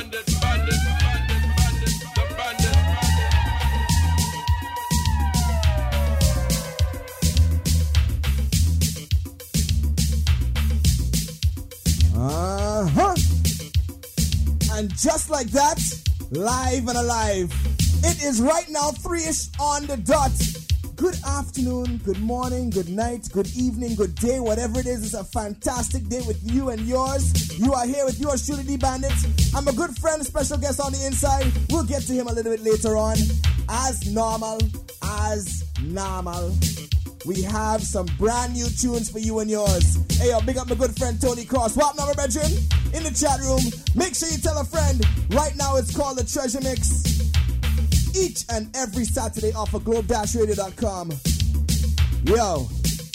And just like that, live and alive, it is right now 3-ish on the dot. Good afternoon, good morning, good night, good evening, good day, whatever it is. It's a fantastic day with you and yours. You are here with yours truly, D Bandit. I'm a good friend, special guest on the inside. We'll get to him a little bit later on. As normal, we have some brand new tunes for you and yours. Hey, yo, big up my good friend Tony Cross. What number, brethren? In the chat room. Make sure you tell a friend. Right now it's called the Treasure Mix. Each and every Saturday off of globe-radio.com. Yo.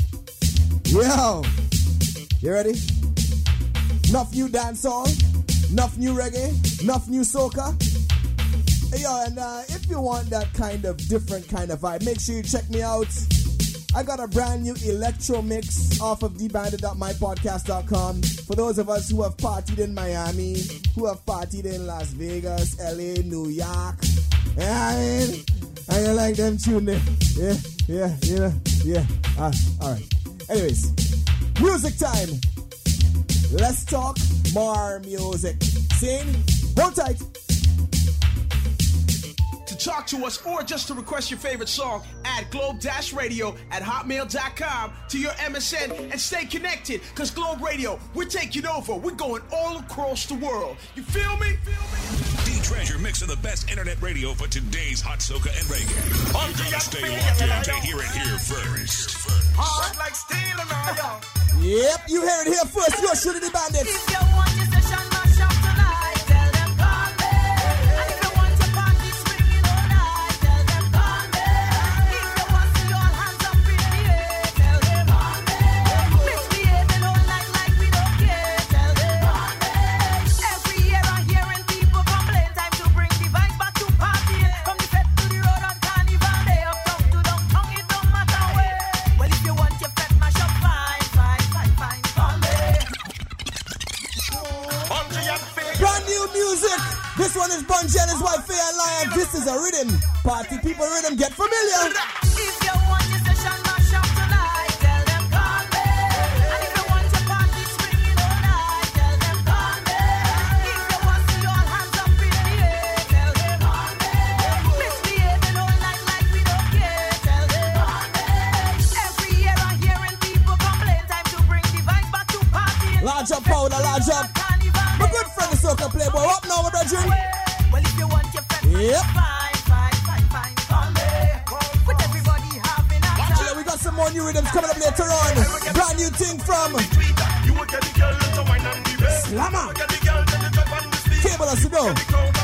You ready? Enough new dancehall, enough new reggae, enough new soca. Hey, yo, and if you want that kind of different kind of vibe, make sure you check me out. I got a brand new electro mix off of dbandit.mypodcast.com. For those of us who have partied in Miami, who have partied in Las Vegas, LA, New York. Yeah, I mean, I don't like them tune there. Yeah. Alright. Anyways, music time. Let's talk more music. Sing, hold tight. Talk to us or just to request your favorite song, add globe-radio@hotmail.com to your MSN and stay connected, because Globe Radio, we're taking over. We're going all across the world. You feel me? D-Treasure mixing the best internet radio for today's hot soca and reggae. You're gonna stay locked in to hear it here first. Hard like steel and iron. Yep, you hear it here first. You're shooting the bandits. If you want your session, mash up tonight. Tell them call me. And if you want your party swinging all night, tell them call me. If you want to see your hands up in the air, tell them call me. Misbehaving all night like we don't care, tell them call me. Every year I'm hearing people complain. Time to bring the vibes back to party. From the fete to the road on Carnival Day, uptown to downtown, it don't matter where. Well, if you want your fete mash up, fine, call me. Brand new music. This one is Bungie and his wife Faye and Lion. This is a rhythm. Party people rhythm. Get familiar. If you want your session mash up tonight, tell them call me. And if you want your party swinging all night, tell them call me. If you want to see your hands up in the air, tell them call me. Misbehaving all night like we don't care, tell them call me. Every year I'm hearing people complain. Time to bring the vibe back to party. Large up powder, large up. My good friend the soca playboy. Up now, my brethren. Well, if you want your fine, call me. With everybody having a time. Yeah, we got some more new rhythms coming up later on. Brand new thing from Slammer. Cable us to go.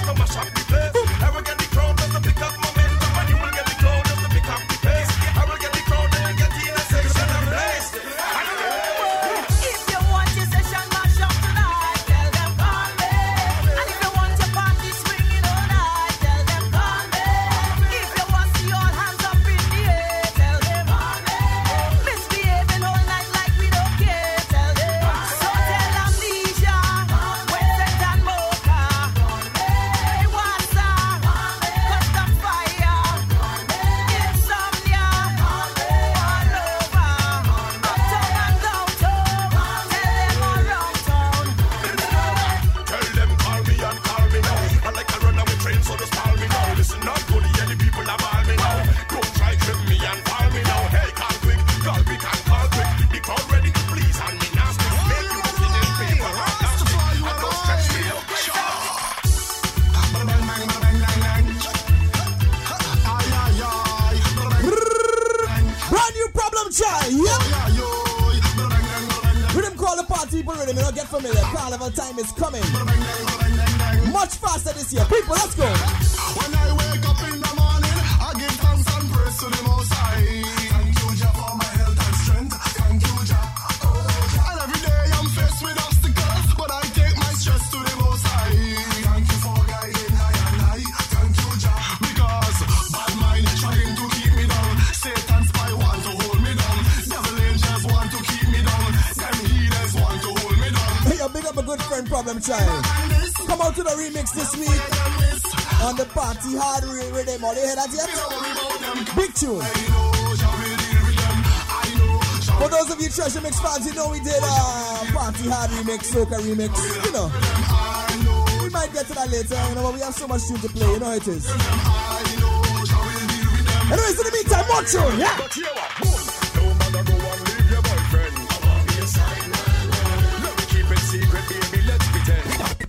Carnival time is coming. Much faster this year. People, let's go. When I wake up in the morning, I give thanks and praise to the Most High. Thank you, Jah, for my health and strength. Thank you, Jah. And every day I'm faced with obstacles, but I take my stress to the Most High. Thank you for guiding I and I. Thank you, Jah. Because bad mind trying to keep me down. Satan's spy want to hold me down. Devil angels want to keep me down. Them healers want to hold me down. Hey, yo, big up a good friend, Problem Child. come out to the remix this week on the Party Hard rhythm. Are you hear that yet? Big tune. For those of you Treasure Mix fans, you know we did Party Hard remix, Soca remix. You know, we might get to that later, you know, but we have so much tune to play, you know how it is. Anyways, in the meantime, more tune, yeah? No matter go and leave your boyfriend. Let me keep it secret, baby, let's pretend.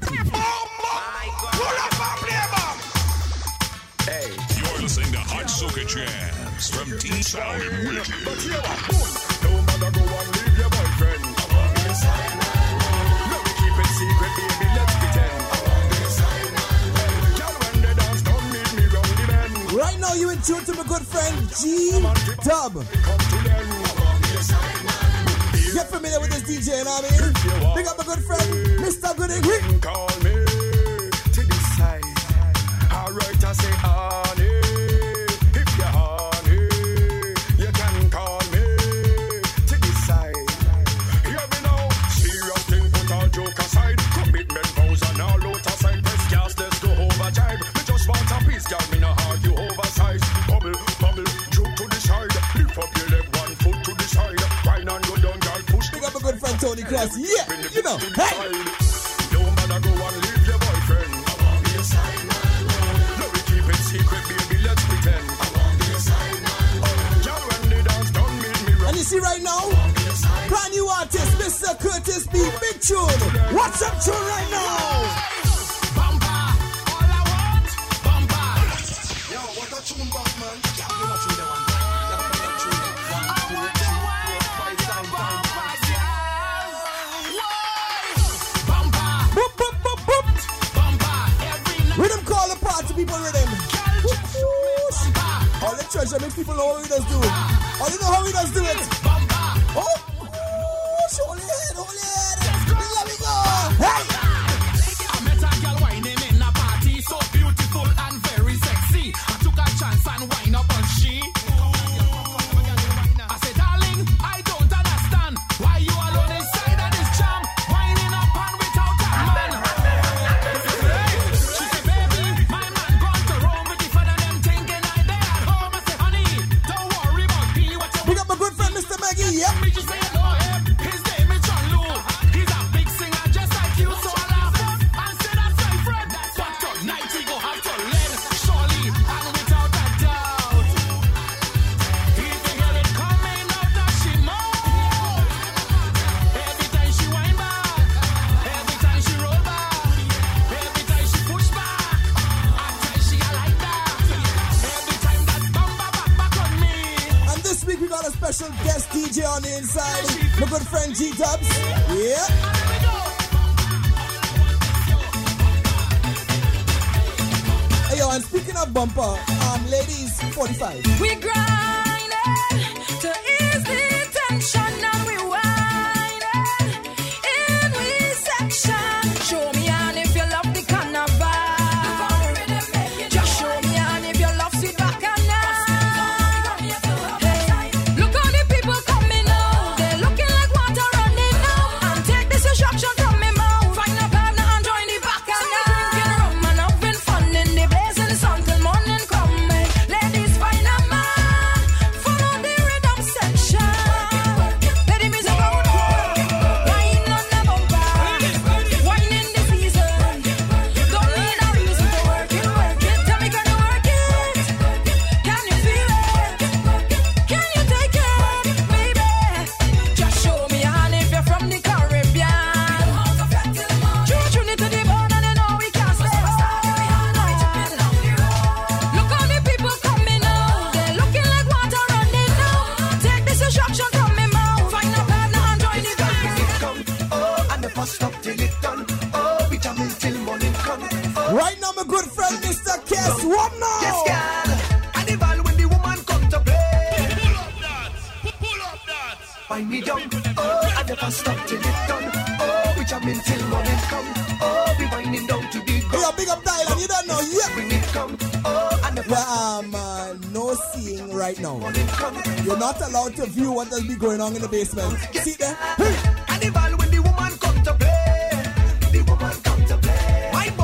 Hey, you're listening to Hot Soca Jams from T-Sound and Wicked. But here, no matter go and leave your boyfriend. Let me keep it secret, baby, let's pretend. Girl, when they dance, don't meet me round the bend. Right now, you in tune to my good friend G-Dub. Get familiar with this DJ, you know what I mean? Big up my good friend, Mr. Gooding. Call me to the side. Alright, I say honey. If you're honey, you can call me to the side. Hear me now, serious thing, put all joke aside. Commitment vows and all out aside. Press gas, let's go overdrive. Me just want a piece, girl, me no argue oversize. Bubble, bubble, juke to the side. Lift up your leg, 1 foot to the side. Wine and go down, girl, push. Big up my good friend Tony Cross, yeah, you know, hey! No matter go and leave your boyfriend. I want be a side man. Let me keep it secret, baby, let's pretend. I want be a side man. Girl, when they dance, don't meet me wrong. And you see right now, brand new artist, Mr. Curtis B. Big tune. What's up tune right now? Bumper, all I want, bumper. Yo, what a tune, boss, man. Boop, boop, boop, boop. Rhythm call the party people rhythm. Whoosh. All the Treasure Mix people know how he does do it. All you know how he does do it. Oh, whoosh. Hold your head, hold your head. Let me go. Hey! I met a girl whining in a party, so beautiful and very sexy. I took a chance and wind up on she. I said, darling, I don't understand why you alone inside of this jam, winding up and without a man. She said, baby, my man gone to Rome with the fun and them thinking I there at home. I said, honey, don't worry about me. What you Big up my good friend Mr. Maggie, yep. me just say hello him. His name is John Lou. He's a big singer just like you, so I laugh and say that's my friend. But tonight he go have to learn, surely and without a doubt. He can hear it coming out that she mouth. Every time she wind back, every time she roll back, every time she push back, I tell she I like that. Every time that bumper back on me. And this week we got a special guest DJ on the inside. My good friend G-Dubs. Yeah. Hey yo, and speaking of bumper, ladies, 45. We grinding to ease the tension and we whining in we section. Show me on if you love the carnival. Just show me on if you love sweet bacchanal. Hey, look how the people coming out. They're looking like water running out. And take this instruction from me mouth. Find a partner and join the bacchanal. Drinking rum and having fun in the blaze in the sun till morning come. Ladies, find a man. Follow the rhythm section. Let the music out. Wine on the bumper. Wine in the season. Don't need a reason to work it, work it. Tell me, can you work it? Can you feel it? Can you take it, baby? Just show me on if you're from the Caribbean. Tune it to the bone and you know we can't stay home. Look how the people coming out. They're looking like water running out. Take this instruction from me mouth. Find a partner and join the band. And the first stop till it done. Oh, we jamming till morning come. Right now, my good friend Mr. Kes. What now? Yes, girl. And the ball when the woman come to play. Pull up that. Find me down. Oh, and the first stop till it done. Oh, we jamming till morning come. Oh, we winding down to the Hey, ground. yo, big up Thailand, you don't know, yeah. When it come. Oh, and the first Yeah, no seeing right now. morning come. You're not allowed to view what does be going on in the basement. See there? Hey. And the ball when the woman come to play. The woman come to play. My boy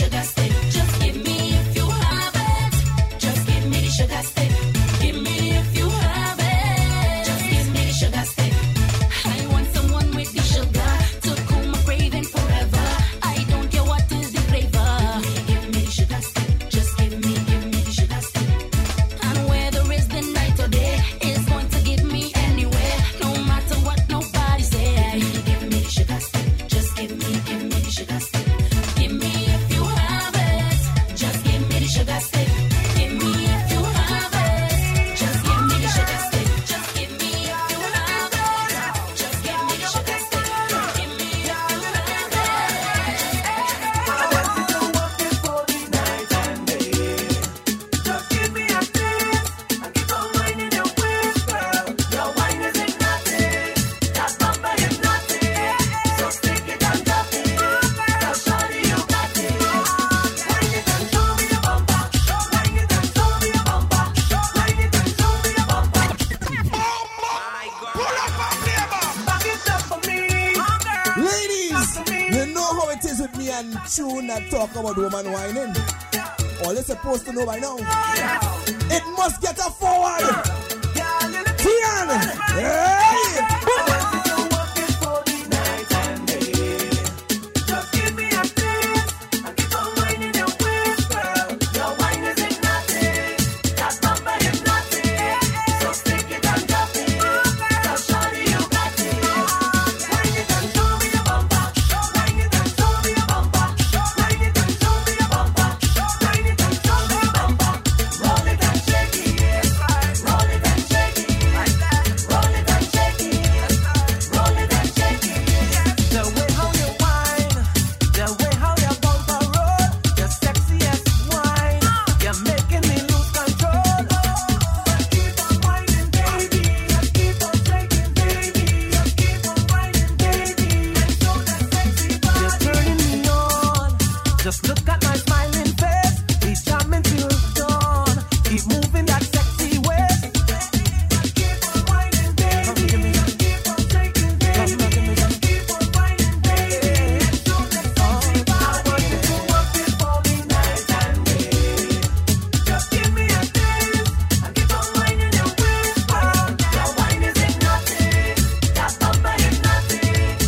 sugar stick. Just give me if you have it. Just give me the sugar stick. Give me if you have it. Just give me the sugar stick. I want someone with the sugar to cool my craving forever. I don't care what is the flavor. Give me the sugar stick. Just give me the sugar stick. And whether it's the night or day, it's going to give me anywhere. No matter what nobody say. Give me the sugar stick. Just give me the sugar stick. Give me if you have it. Just give me the sugar stick. Give me if you have it. Just give me the sugar stick. Just give me if you have it. Just give me the sugar stick. Give me if you have it. Just give me a taste. I keep on whining your waist, girl. Your wine is hypnotic. That bumper hypnotic. So stick it and drop it. Now shawty, you got it. Wine it and show me your bumper. Wine it and show me your bumper. Wine it and show me your bumper. Pull up and flavor. Back it up for me. Ladies, you know how it is with me and Tune that talk about woman whining. All you're supposed to know by now. It must get a forward. Tian, hey! Just give me a taste. I keep on whining your waist, girl. Your wine is hypnotic. That bumper hypnotic. So stick it and drop it. Now shawty, you got it. Wine it and show me your bumper. Wine it and show me your bumper. Wine it and show me your bumper. Wine it and show me your bumper. Roll it and shake it. Roll it and shake it. Roll it and shake it. Roll it and shake it. The way how you whine, the way how your bumper roll, your sexiest wine, you're making me lose control. Keep on whining, baby. Keep on shaking, baby. Keep on whining, baby. And show that sexy body. You're turning me on. Just look at my smiling face. Be charming till dawn. Keep moving that sexy waist. Keep on whining, baby. Keep on shaking, baby. Keep on whining, baby. And show that sexy body. I want you to work it for me night and day. Just give me a taste. I keep on whining your waist, girl. Your wine is hypnotic. That bumper hypnotic.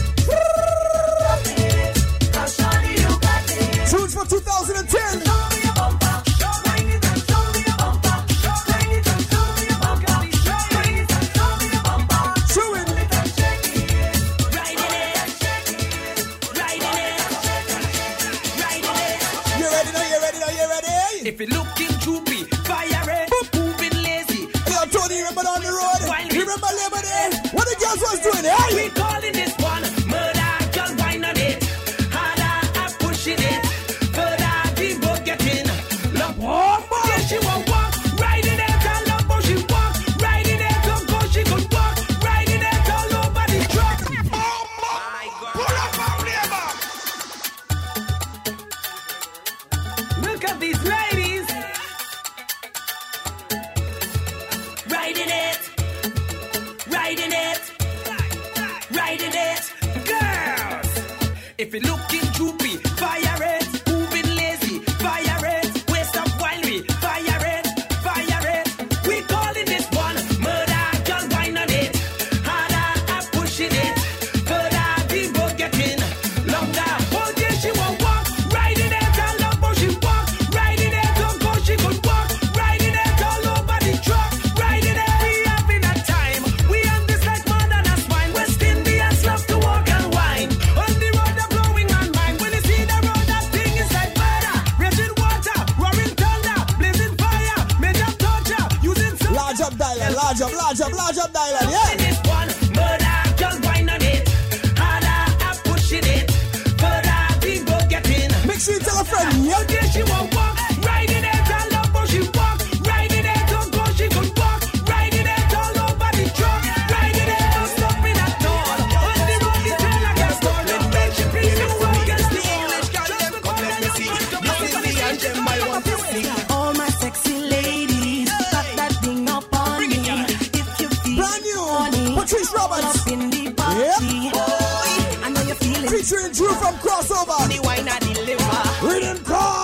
Drop it. Now shawty, you got it. Tunes for 2010. Show me your bumper. Wine it and show me your bumper. Wine it and show me your bumper. Wine it and show me your bumper. Chew it. Roll it and shake it. Riding it, riding it, riding it. You ready now? You ready now? You ready? If you're looking droopy, fire it, moving lazy. Yo, Tony, remember on the road? You remember Labor Day? What the girls was doing? Hey! We calling this one murder, girl wine on it. Harder, I'm pushing it. Further, people getting love. Yeah, she won't walk, riding it. I love how she walk, riding it. Don't go, she could walk, riding it all over the truck. Pull up and flavor. Look at these ladies. Riding it, riding it, Riding it, girls. If you're looking droopy, fire it. Moving lazy, fire it. Waste up winery, fire it, fire it. We calling this one murder, girl wine on it. Harder, I'm pushing it. Further, the road getting longer. Oh yeah, she won't walk, riding it. I love how she walk, riding it. Don't go, she could walk, riding it all over the truck, riding it. We having a time. We on this like more than a swine. West Indians love to walk and wine. On the road, they're blowing on mine. When you see the road, that thing is like murder. Raging water, roaring thunder, blazing fire, major torture, using some. Large up dialer, large up dialer, In yeah! this one, murder, just wine on it. Harder, I'm pushing it. Further, the road getting. Make sure you tell a friend, yeah? Okay, she won't walk, riding it. I love how she walk, riding it. Don't go, she could walk, riding it all over the truck, riding it. Don't stop it at all. On the road, the tail like a storm. Don't make she please you against the English girl. Just come let me see. This is the anthem I want to sing. all my sexy ladies, got that thing up on me. If you feel Brand new, horny, Patrice Roberts. up in the party. I know you're feeling Featuring Drew from Crossover. the wine and the liver. Rhythm call.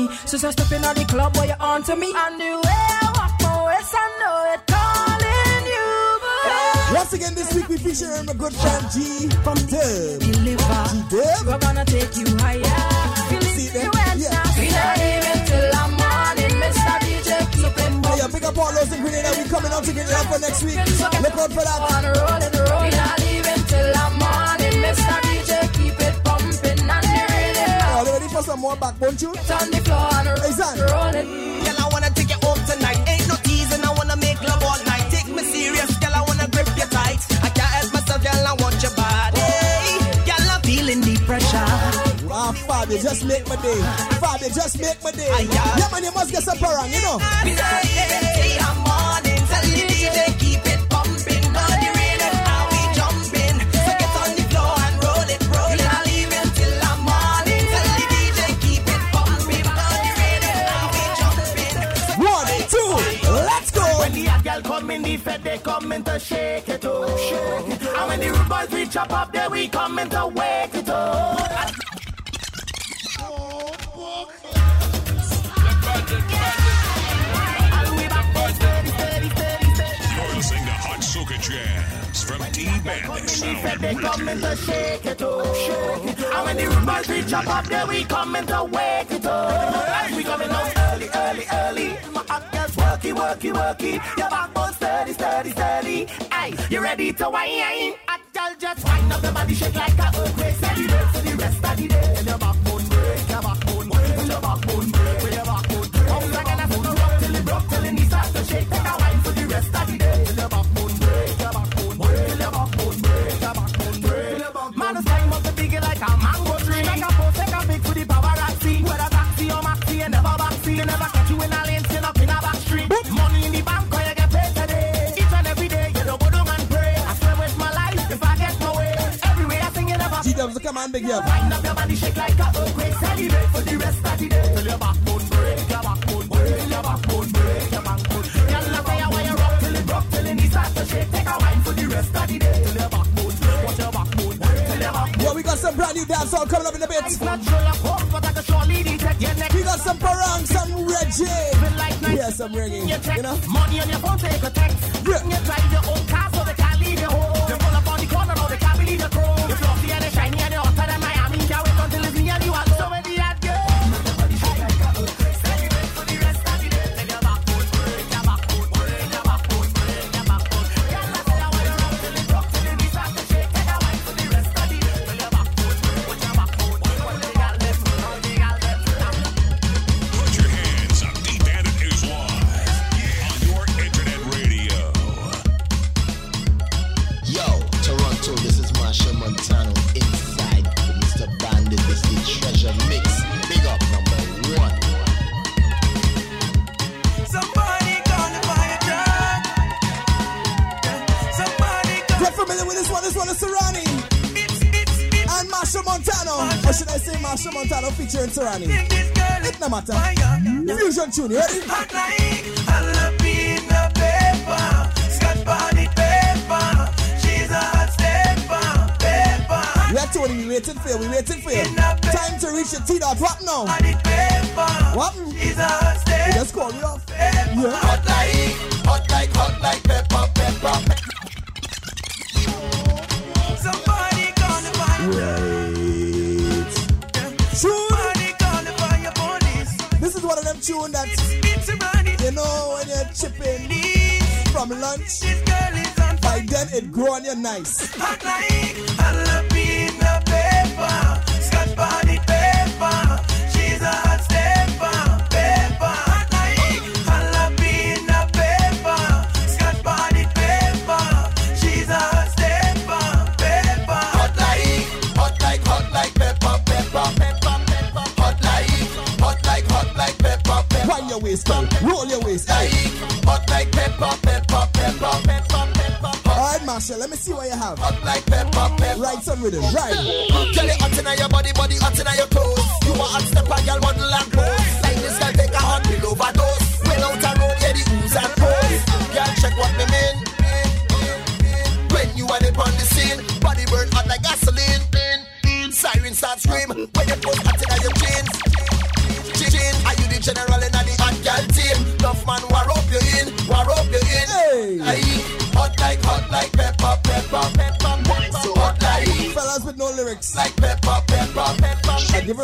me. So step in at the club where you on to me. And the way I walk my waist, I know it calling you. Once again this week we featuring my good friend G from Dub. Deliver. G-Dub. We're gonna take you higher. See them? Yeah. We not even till the morning, Mr. DJ. Keep it Hey, yo, pick up all those ingredients that we coming out to get it up for next week. Look out for that. on rolling, rolling. We not even till the morning, Mr. DJ. Keep it pumping and reeling. Are you ready for some more backbone tunes? On the floor and Hey, son. rolling. Girl, I wanna take you home tonight. Ain't no teasing, I wanna make love all night. Take me serious, girl, I wanna grip you tight. I can't help myself, girl, I want your body. Girl, I'm feeling the pressure. Ah, Fabio, just make my day. Fabio, just make my day. yeah. Yeah, man, you must get some parang, you know. We not even till the morning. Tell the DJ, keep it pumping. Body raining, how we jumping. So get on the floor and roll it. We not even till the morning. Tell the DJ, keep it pumping. Body raining, how we jumping. 1, 2, let's go. When the hot girl come in the fed, they come in to shake it up. And when the rude boys we chop up, there we come in to wake it up. You're listening to Hot Soca Jams from D-Band Sound They come in to Limited. shake it up. And when the rude boys we chop up, there we come in to wake it up. We coming out early, early, early. My hot girls worky, worky, worky. Your backbone steady, steady, steady. Hey, you ready to whine? Hot girl just wind up your body, shake like a earthquake. Steady break for the rest of the day. And your backbone break, your backbone break, and your backbone break, with your backbone break. Bounce like an apple, rock till it broke, till it needs to shake. Take a wine for the rest of the day. And your backbone break, your backbone break, and your backbone break, your backbone break. Man, the sky must be big like a mango tree. Like a post, like a big for the paparazzi. Whether taxi or maxi, you never backseat. You never catch you in a lane, still up in a back street. Money in the bank, or you get paid today. Each and every day, you don't go down and pray. I swear with my life, if I get my way. Every way I sing, you never G-Dubs, come on, big up. wind up your body, shake like a earthquake. Celebrate for the rest of the day. Till your backbone break, your backbone break, till your backbone break, your backbone. Girl, I say why you rock till it broke, till it needs to shake. Take a wine for the rest of the day. Till your backbone break, watch your backbone break, till your backbone. Yo, we got some brand new dancehall coming up in a bit. It's not sure of hope, but I can surely detect your neck. We got some parang, some reggae. Feel like night. Yeah, some reggae, You check you know? money on your phone, take a text. Yeah. You drive your own car, so they can't leave your home. You pull up on the corner, no, they can't believe your chrome. You fluffy and you shiny and you're hotter than Miami. Can't wait until it's me and you are so many hot girls. Celebrate for the rest of the day. Till your backbone break, your backbone break, your backbone break, your backbone. Girl, I say I want you rock till it broke, till it needs to shake. Take a wine for the rest of the day. Till your backbone break, watch your backbone break. All they got left, all they got left. Put your hands up. D-Bandit is live on your internet radio. Yo, Toronto, this is Marsha Montano inside the Mr. Bandit. This is the Treasure Mix. Big up #1. Somebody gonna buy a drug. Somebody Get familiar with this one. This one is Serrani and Marsha Montano. Or should I say Marsha Montano featuring Serrani? It no matter. Fusion tune, you ready? hot like jalapeno pepper, Scotch bonnet pepper. She's a hot stepper, pepper. We are Tony, we waiting for you, we waiting for you. Time to reach the T-dot. What now? Bonnet pepper. What? She's a hot We stepper. just call you off. Yeah. Hot like pepper, pepper. Somebody gonna buy Wait. Tune. Somebody gonna buy your bodies. This is one of them tune that, It's a money. you know, when you're chipping from lunch, This girl is on by then it grow on you nice. hot like jalapeno pepper, Scotch bonnet pepper. She's a hot stepper, pepper. Hot like jalapeno pepper, Scotch bonnet pepper. She's a hot stepper, pepper. Hot like pepper, pepper, pepper, pepper. Hot like pepper, pepper. Wind your waist, girl. Roll your waist. Hey. Hot like pepper, pepper, pepper, pepper, pepper. Alright, Marsha, let me see what you have. Hot like pepper, pepper. Write some rhythm. Right. Girl, you hot inna your body, body hot inna your toes. You a hot stepper, girl, model and clothes. Like this girl take a hot pill overdose. When out a road, yeah, the ooze and pose. Girl, check what me mean. When you are on the scene, body burn hot like gasoline. Siren start scream when you put hot inna your jeans. Jeans, are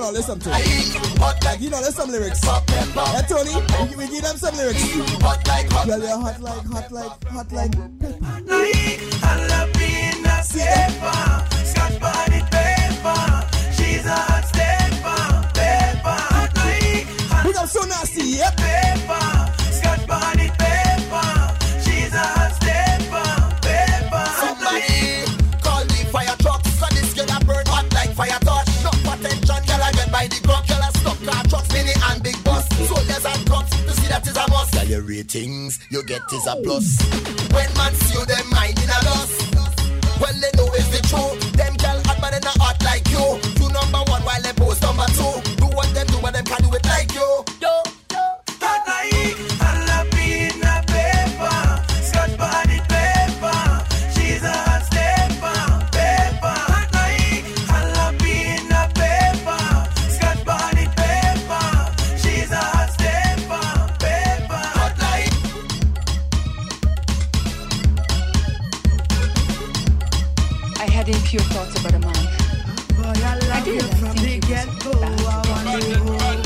know, listen to it. Like, you know, there's some lyrics. Hey, Tony, we give them some lyrics. Girl, you're hot like pepper. Like jalapeno pepper, Scotch bonnet pepper. She's a hot stepper, pepper. Like We got so nasty, yep. pepper, Scotch bonnet pepper. She's a hot stepper, pepper. Somebody call the fire truck. So this girl a burn hot like fire torch. No attention, girl I get by the crop. Girl a stuck car trucks, mini and big bus. Soldiers and cops, to see that is a must. Girl your ratings, you get is a plus. When man see you, them mind in a loss. Well they know it's the truth. Them girl hot but they not hot like you. You number one while they post number two. Do what them do, but them can do it like you. Hot like jalapeno pepper, Scotch bonnet pepper. She's a hot stepper, pepper. Hot like jalapeno pepper, Scotch bonnet pepper. She's a hot stepper, pepper. Hot like I had impure thoughts about a man. I did. I think he was bad.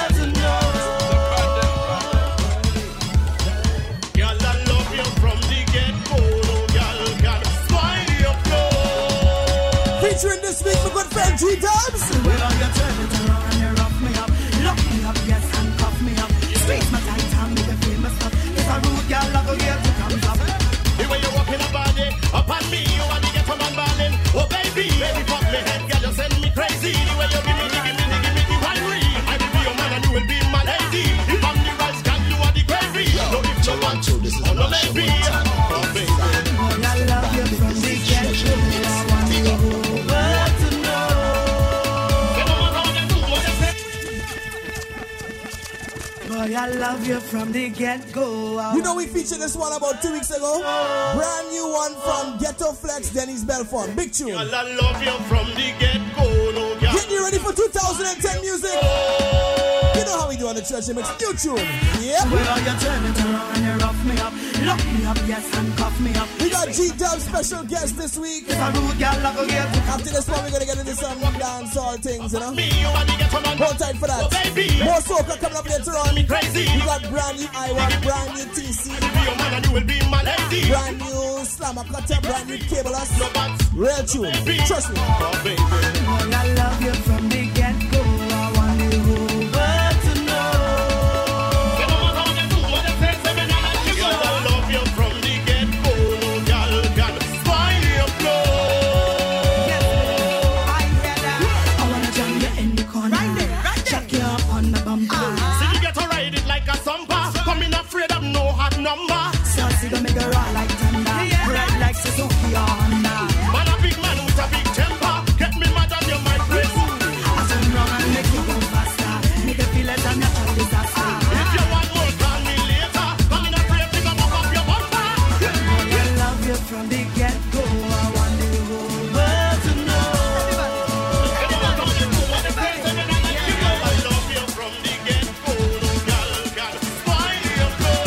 Girl, I love you from the get-go. Girl, girl, spoil your flow. Featuring this week, my good friend G-Dubs. Well, you turn it around and you rough me up. Lock me up, yes, and cuff me up. Squeeze my tight hand with the famous stuff. It's a rude girl, I go here to come up. The way you walk in a body, up on me, you want to get from on balling. Oh baby, baby, fuck me head, girl, you send me crazy. The way you give me the winery. I will be your man and you will be my lady. If I'm the rice, girl, you are the gravy. No, if you want to, this is no maybe. Oh baby. Boy, I love you from the get-go. I want the whole world to know. Boy, I love you from the get-go. You know we featured this one about 2 weeks ago. Brand new one from Ghetto Flex, Dennis Belfort. Big tune. Girl, I love you from the get-go. No, girl. Get you ready for 2010 music. You know how we do on the Church Mix. New tune. Yep. Well, you turn it around and you rough me up. Lock me up, yes, and cuff me up. We got G-Dub special guest this week. It's a rude girl, I go here to come. After this one, we're gonna get into some dancehall things, you know. Me, you want to get from on Hold tight for that. Oh baby, More soca coming up later on. me crazy. We got brand new I1, brand new TC, I will be your man and you will be my lady. brand new Slammer Cutter, brand new Cableus. No, but Real tune. Trust me. oh baby. Boy, I love you from the get-go. I want the whole world to know. Girl, I love you from the get-go. No, girl, girl, spoil your flow. I hear that. I wanna jam you in the corner. Right there. Chuck you up on the bumper. See you get to ride it like a sumper. Coming afraid of no hot number. Saucy gonna make her raw like thunder. Red like Suzuki or Honda. Man a big man with a big temper. Get me mad and you might break. I turn round and make you go faster. Make you feel like a natural disaster. If you want more, call me later. Coming afraid to come up your bumper. Boy, I love you from the get-go. I want the whole world to know. Girl, I love you from the get-go. No, girl, girl, spoil your flow.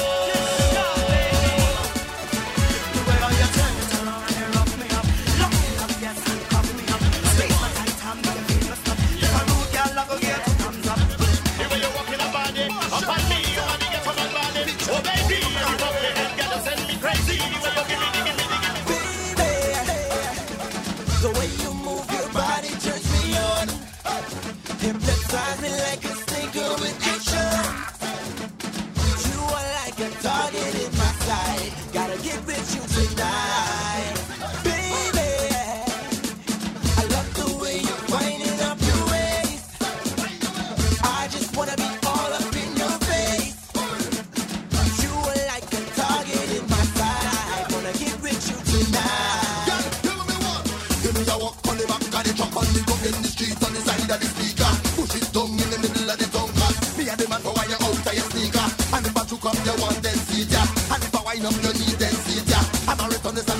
The way how you turn it around and you rough me up. Lock me up, yes, and cuff me up. Squeeze my tight hand with the famous stuff. If a rude girl, I go here to thumbs up. The way you walk in a body, up on me, you want to get from on balling. Oh baby, you love me head, girl, you send me crazy. The way you give me. the way you move your body turns me on. Hypnotize me like a stinker with action. You are like a target in my sight. Gotta get with you tonight. Baby, I love the way you're winding up your waist. I just wanna be all up in your face. You are like a target in my sight. Wanna get with you tonight. Give me a walk on the back of the truck on the gun in the street on the side of the speaker. Push it down in the middle of the tongue. Me and the man for why you out of your sneaker. And if I took up you want then see ya. And if I wind up you need then see ya. I'm a return this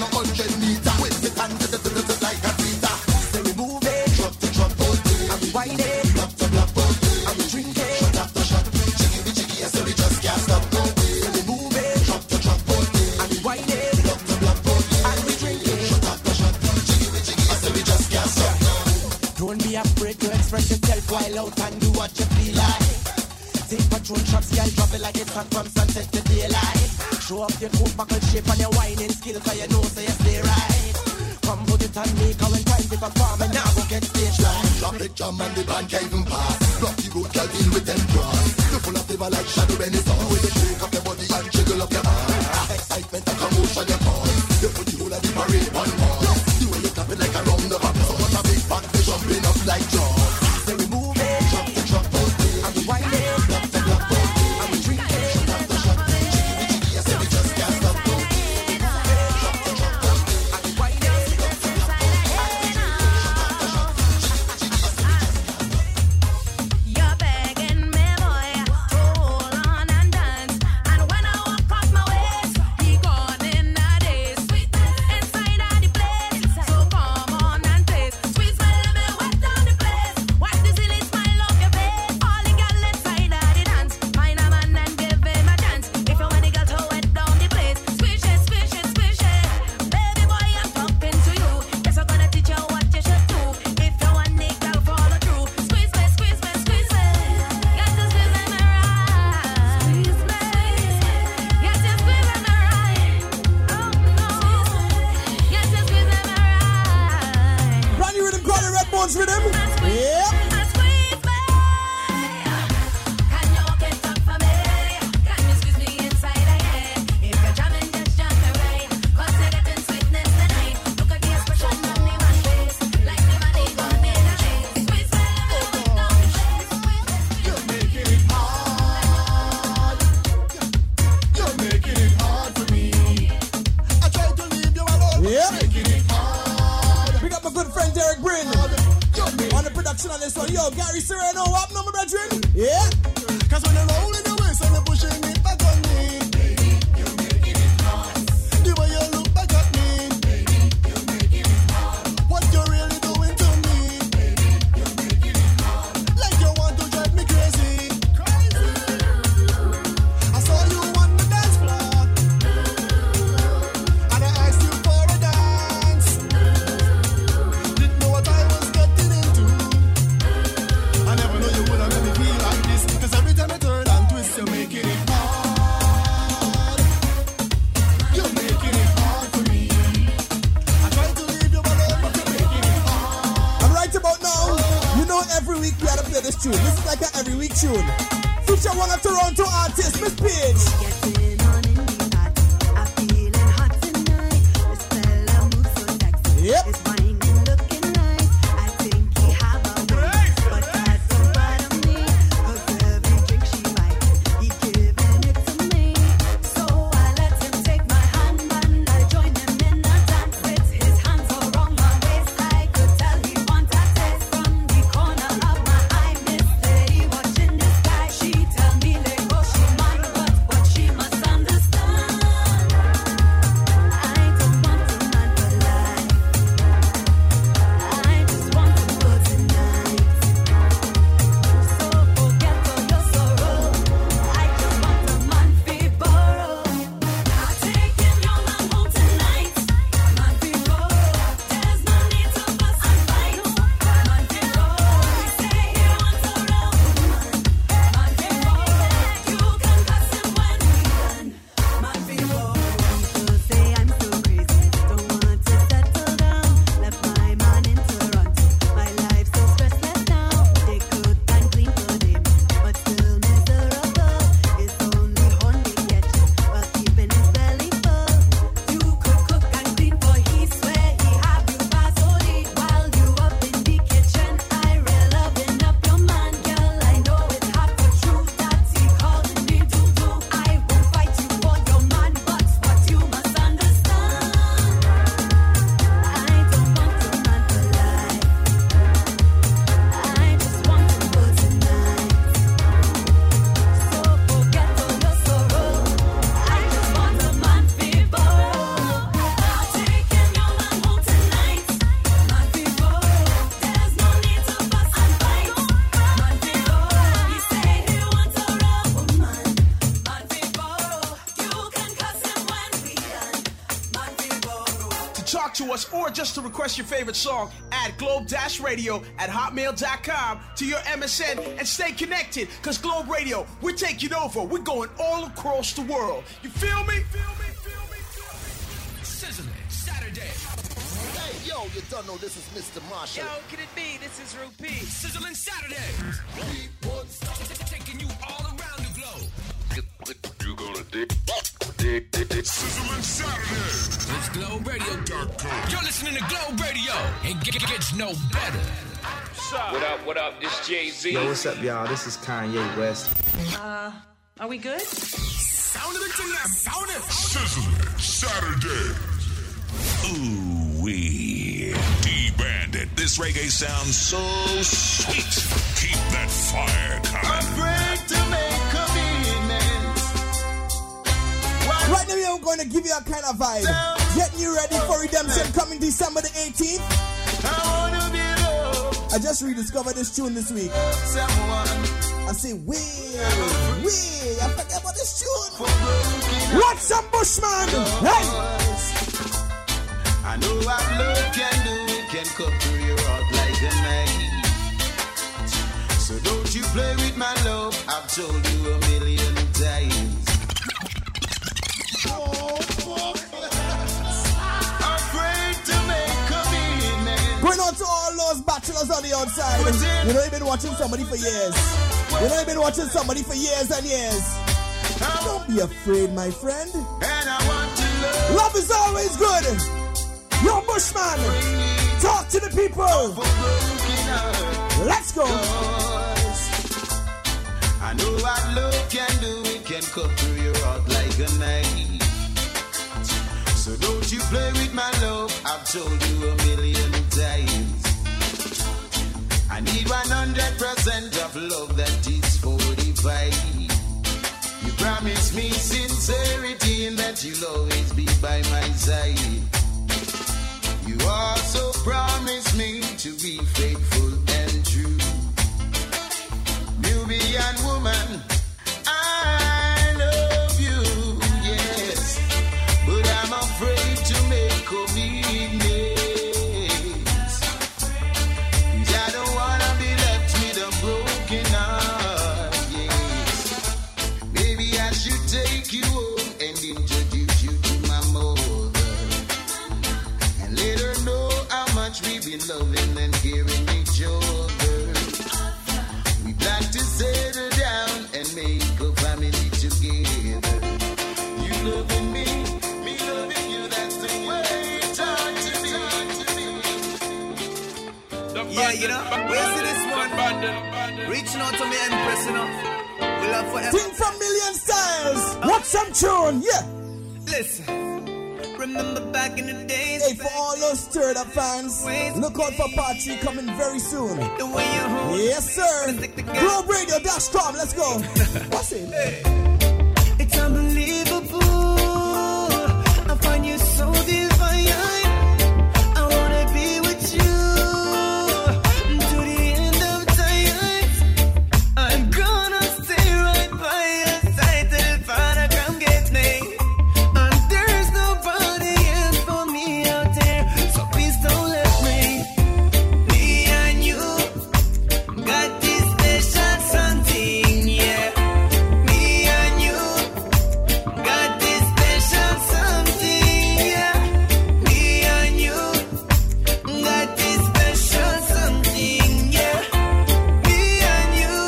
express yourself while out and do what you feel like. Take patrol shots, girl, drop it like it's hot from sunset to daylight. Show up your cool buckle shape and your whining skill, cause you know so you stay right. Come put it on me, cause when time to perform and now go get stage light. Drop it, jam and the band can't even pass. Block the road, girl, deal with them cross. You full of flavor like shadow when it's on. The way you shake up your body and jiggle up your arm. Excitement and commotion your voice. You put the whole of the parade on pause. The way you tap it like a round of applause. So much a big fat fish jumping up like jaws. So we move it, drop to drop all day. And we wind it, block to block all day. And we drink it, shot after shot. Jiggy, jiggy, I say we just can't stop. Drop to drop all day. And we wind it, block to block all day. And we drink it, shot after shot. Jiggy, jiggy, I say we just can't stop. You're begging me, boy, to hold on and dance. And when I walk off my waist, he gone in a daze. Inside of the place, so come on and taste. Sweet smell of it wet down the place. Watch the silly smile of your face. All the girl inside of the dance. Find a man and give him a chance. If you want the girl to wet down the place, squish it, squish it, squish it. Baby boy, I'm talking to you. Guess I'm gonna teach you what you should do. If you want the girl, follow through. Squeeze me, squeeze me, squeeze me. Got to squeeze me right. Squeeze me. Got to squeeze me right. Oh no. Got to squeeze me right. Brand new rhythm called the Red Bones Rhythm. Yeah. Squeeze me. Can you walk it up for me? Can you squeeze me inside of here? If you're jamming, just jam me right. 'Cause you're getting sweetness tonight. Look at the expression on the man's face. Like the money gone in a haze. Squeeze me, wet down the place. You're making it hard. You're making it hard for me. I tried to leave you alone. Yeah. Making it hard. Pick up my good friend Derek Brin You're making on the production on this one. Yo, Gary Serrano, what number, brethren? Yeah. Cause when you're rolling your waist and you're pushing it back on me, baby, you're making it hard. The way you look back at me, baby, you're making it hard. What you're really doing to me, baby, you're making it hard. Like you want to drive me crazy. Crazy. I saw you on the dance floor, and I asked you for a dance. Didn't know what I was getting into. I never know you would have made me feel like this. Cause every time I turn and twist, you're making it hard. You're making it hard for me. I try to leave you alone, but you're making it hard. And right about now, you know every week we gotta play this tune. This is like an every week tune. Feature one of Toronto artists, Miss Page. Getting on in the hot. I'm feeling hot tonight. This fella moves so sexy. Yep. His wine and looking nice. I think he have a way, but that don't bother me. 'Cause every drink she likes, he giving it to me. So I let him take my hand and I join him in a dance with his hands around my waist. I could tell he want a taste from the corner of my eye. Miss Lady watching this guy, she tell me let go talk to us or just to request your favorite song, add globe-radio@hotmail.com to your MSN and stay connected, because Globe Radio, we're taking over. We're going all across the world. You feel me? Sizzling Saturday. Hey, yo, you don't know this is Mr. Marshall. Yo, can it be? This is Rupee. Sizzling Saturday. Taking you all around the globe. You gonna dig Sizzling Saturday. It's Globe Radio. You're listening to Globe Radio. It gets no better. What up? This Jay-Z. Yo, what's up, y'all? This is Kanye West. Are we good? Sound of it tonight. Sound it. Sizzling Saturday. Ooh wee. D-Bandit. This reggae sounds so sweet. Keep that fire coming. Afraid to make commitments. Right now, I'm going to give you a kind of vibe. Getting you ready for Redemption coming December the 18th. I wanna be loved. I just rediscovered this tune this week. I say, wait, I forget about this tune. What's some Bushman? Hey! I know what love can do. It can cut through your heart like a knife. So don't you play with my love. I've told you a million times. Afraid to make commitment. Going on to all those bachelors on the outside. You know you've been watching somebody for years. You know you've been watching somebody for years and years. Don't be afraid, my friend. And I want to love. Love is always good. Yo, Bushman, talk to the people. Let's go. I know what love can do. It can cut through your heart like a knife. So don't you play with my love. I've told you a million times. I need 100% of love that is 45. You promise me sincerity and that you'll always be by my side. You also promise me to be faithful and true. Nubian woman, I love you, yes, but I'm afraid to make commitments. 'Cause I don't wanna be left with a broken heart, yes. Maybe I should take you home and introduce you to my mother, and let her know how much we've been loving and caring each other. We plan to settle down and make a family together. You loving me loving you, that's the way it ought to be. Yeah, you know, where's this one? Reaching out to me and pressing up. We love forever. Sing from Million Styles. What's some tune? Yeah. Listen. Remember back in the days. Hey, for all those stirred up fans, look out for part 3 coming very soon. The way you hold. Yes, sir. GlobeRadio.com. Let's go. What's it? It's unbelievable. I find you so divine. I wanna be with you to the end of time. I'm gonna stay right by your side till Father come get me. And there's nobody else for me out there, so please don't let me. Me and you got this special something, yeah. Me and you got this special something, yeah. Me and you got this special something, yeah. Me and you,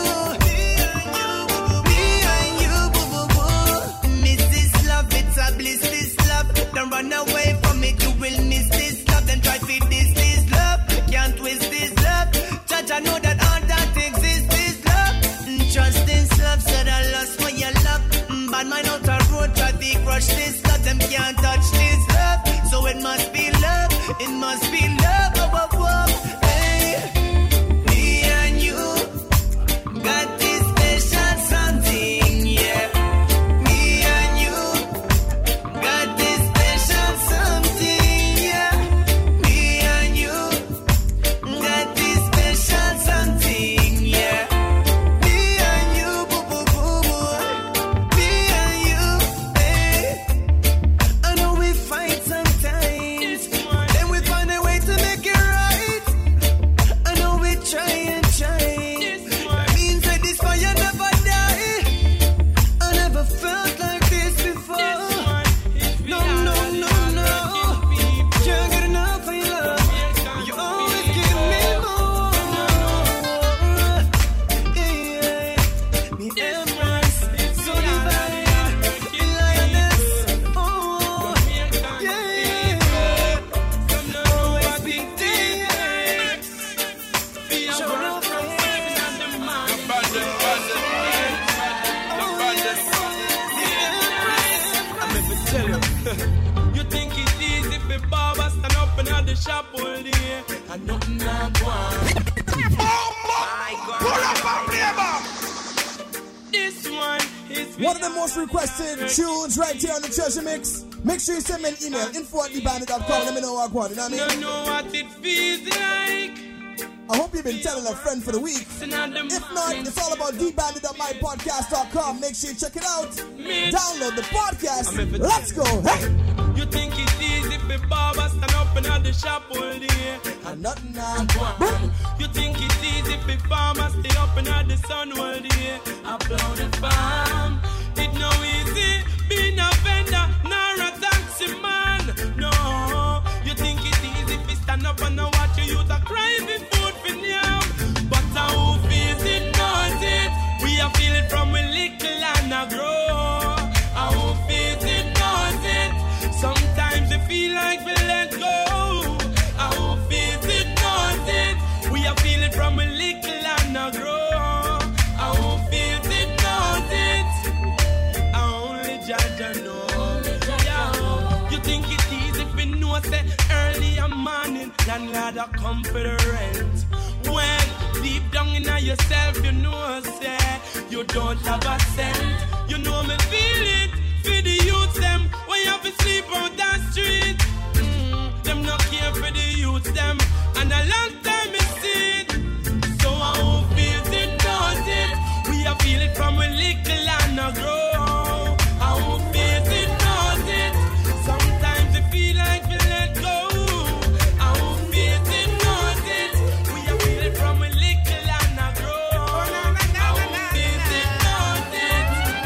boo, boo, boo. Miss this love, it's a bliss, this love. Don't run away from it, you will miss this love. Then try to this love, can't twist this love. Judge, I know that all that exists is love. Trust this love, said I lost for your love. Bad mind out the road, try to crush this love. Them can't touch this love, so it must be love. It must be love, hey. Me and you got this special something, yeah. Me and you got this special something, yeah. Me and you got this special something, yeah. Me and you, boo, boo, boo, boo. Me and you, hey. I know we fight sometimes. You think it's easy for Baba stand up and at the shop all day and nothing not one. Pull up and play back. This one is one of the most requested tunes right here on the Treasure Mix. Make sure you send me an email, info@thebandit.com. Let me know what I want. You know what I mean? You know what it feels like. I hope you've been telling a friend for the week. If not, it's all about thebandit.mypodcast.com. Make sure you check it out. Download the podcast. Let's go. Hey! You think it's easy for Baba stand up and at the shop all day and nothing not one. You think it's easy for farmers stay up and at the sun all day upload the farm. It no easy being a vendor nor a taxi man. No, you think it's easy for stand up and watch your youth a cry for food for now. But how feels it knows it. We are feel it from a little and a grow. How feels it knows it. Sometimes you feel like we let go. How feels it knows it. We are feeling from a little and a grow. How feels it knows it. Only Jaja know. Yeah. You think it's easy if you know say early in morning landlord a come for the rent. When deep down in yourself you know say you don't have a cent. You know me feel it. For the youth them, when you have to sleep on that street, them not care for the youth them, and a long time is it. So I won't feel it, knows it. We are feel it from a little and a grow. I won't feel it, knows it. Sometimes you feel like we let go. I won't feel it, knows it. We are feel it from a little and a grow. I won't feel it, knows it.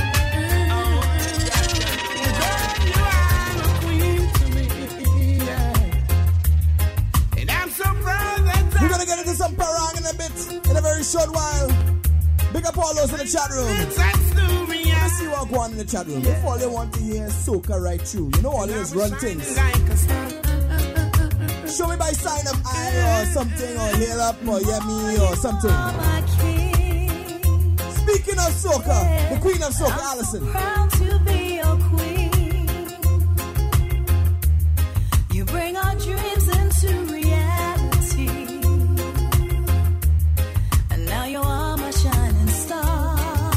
We're gonna get into some parang in a bit, in a very short while. Big up all those in the chat room. Let's see what go on in the chat room. If all they want to hear is soca right through, you know all it is run things. Show me by sign up I or something, or hail up or yummy or something. Speaking of soca, the queen of soca, Allison. Proud to be your queen. You bring our dreams into reality. And now you are my shining star.